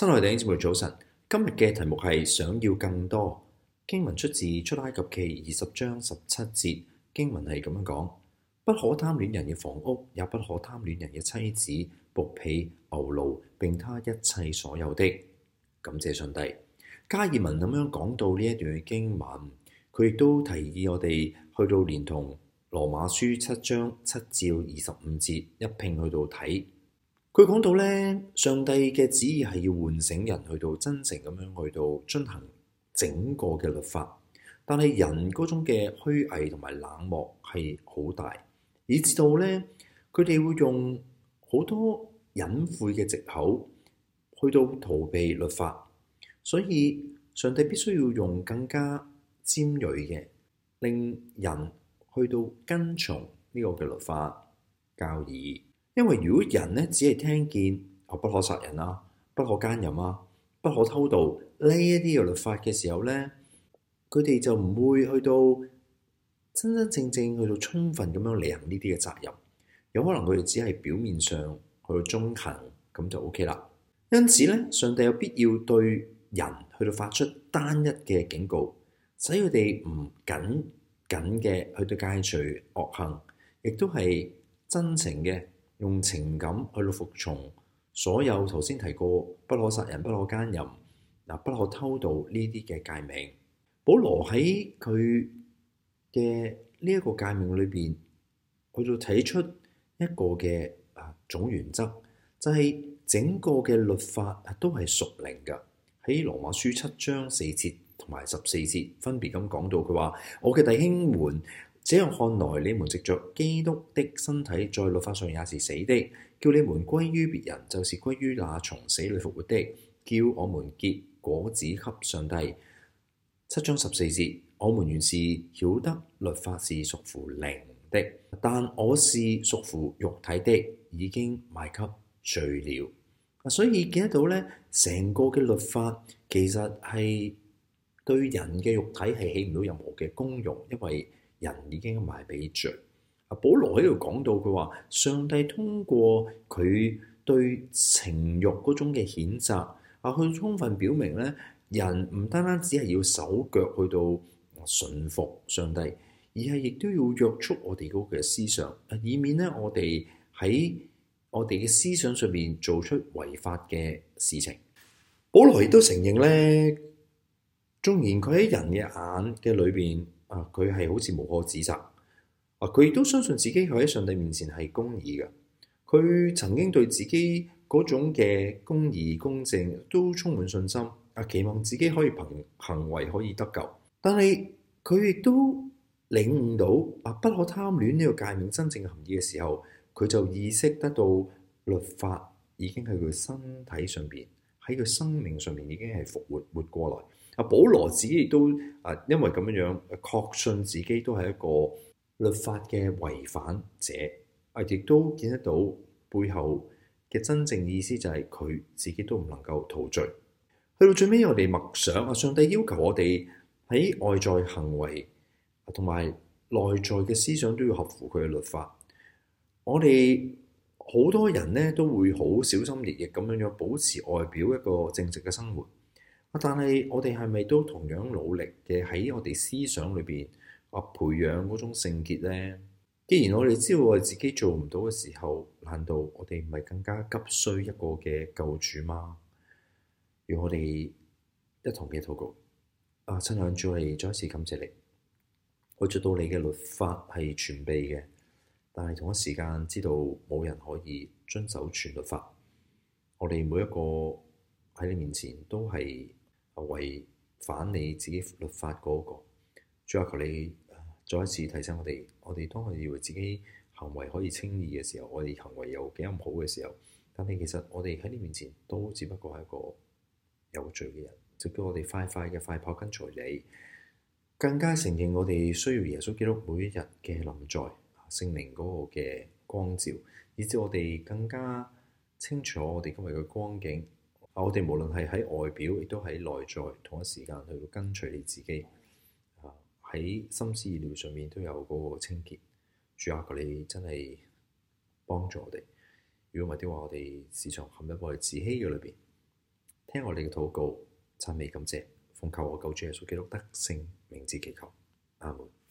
親愛的弟兄姊妹早晨，今日嘅題目係想要更多。經文出自出埃及記20章17節，經文係咁樣講：不可貪戀人嘅房屋，也不可貪戀人嘅妻子、僕婢、牛驢，並他一切所有的。感謝上帝。加爾文咁樣講到呢一段嘅經文，佢亦都提議我哋去到連同羅馬書7章7至25節一併去到睇。佢講到咧，上帝嘅旨意係要喚醒人去到真誠咁樣去到遵行整個嘅律法，但係人嗰種嘅虛偽同埋冷漠係好大，以至到咧佢哋會用好多隱晦嘅藉口去到逃避律法，所以上帝必須要用更加尖銳嘅，令人去到跟從呢個嘅律法教義。因為如果人咧只係聽見不可殺人啊、不可奸淫啊、不可偷盜呢一啲嘅律法嘅時候咧，佢哋就唔會去到真真正正去到充分咁樣履行呢啲嘅責任，有可能佢哋只係表面上去到遵行咁就 OK 啦。因此咧，上帝有必要對人去到發出單一嘅警告，使佢哋唔僅僅嘅去到戒除惡行，亦都係真情嘅。用情感去到服從所有頭先提過不可殺人、不可奸淫、不可偷盜呢啲嘅誡命。保羅喺佢嘅呢一個誡命裏邊去到睇出一個嘅總原則，就係整個嘅律法都係屬靈嘅。喺羅馬書7章4節同埋14節分別咁講到，佢話：我嘅弟兄們，這樣看來，你們藉着基督的身體在律法上也是死的，叫你們歸於別人，就是歸於那從死裏復活的，叫我們結果子給上帝。7章14節，我們原是曉得律法是屬乎靈的，但我是屬乎肉體的，已經賣給罪了。所以見得到咧，成個嘅律法其實係對人嘅肉體係起唔到任何嘅功用，因為人已經賣俾罪。保羅喺度講到，佢話上帝通過佢對情慾嗰種嘅譴責，去充分表明咧，人唔單單只係要手腳去到順服上帝，而係亦都要約束我哋嗰個思想，以免咧我哋喺我哋嘅思想上面做出違法嘅事情。保羅亦都承認咧，縱然佢喺人嘅眼嘅裏邊，佢係好似無可指責，佢亦都相信自己佢喺上帝面前係公義嘅。佢曾經對自己嗰種嘅公義公正都充滿信心，期望自己可以憑行為可以得救。但係佢亦都領悟到不可貪戀呢個誡命真正嘅含義嘅時候，佢就意識得到律法已經喺佢身體上邊，喺佢生命上面已經係復活過來。保羅自己亦都因為咁樣確信自己都係一個律法嘅違反者，亦都見得到背後嘅真正意思就係佢自己都唔能夠逃罪。去到最尾，我哋默想上帝要求我哋喺外在行為同埋內在嘅思想都要合乎佢嘅律法。我哋好多人呢都會好小心翼翼咁樣保持外表一個正直嘅生活。但係我哋係咪都同樣努力嘅喺我哋思想裏邊培養嗰種聖潔呢？既然我哋知道我哋自己做唔到嘅時候，難道我哋唔係更加急需一個嘅救主嗎？讓我哋一同嘅禱告。親愛的主，我哋再一次感謝你，我知道你嘅律法係全備嘅，但係同一時間知道冇人可以遵守全律法。我哋每一個喺你面前都係違反你自己律法嗰個。主啊，求你再一次提醒我哋，我哋當我哋以為自己行為可以稱義嘅時候，我哋行為有幾咁好嘅時候，但係其實我哋喺你面前都只不過係一個有罪嘅人，就叫我哋快快跑跟隨你，更加承認我哋需要耶穌基督每一日嘅臨在，聖靈嗰個嘅光照，以至我哋更加清楚我哋今日嘅光景。我哋無論係喺外表，亦都喺內在，同一時間去到跟隨你自己，喺心思意念上面都有嗰個清潔。主啊，求你真係幫助我哋。如果唔係的話，我哋時常陷入我哋自欺嘅裏邊。 聽我哋嘅禱告，讚美感謝，奉靠我救主耶穌基督得勝名字祈求，阿門。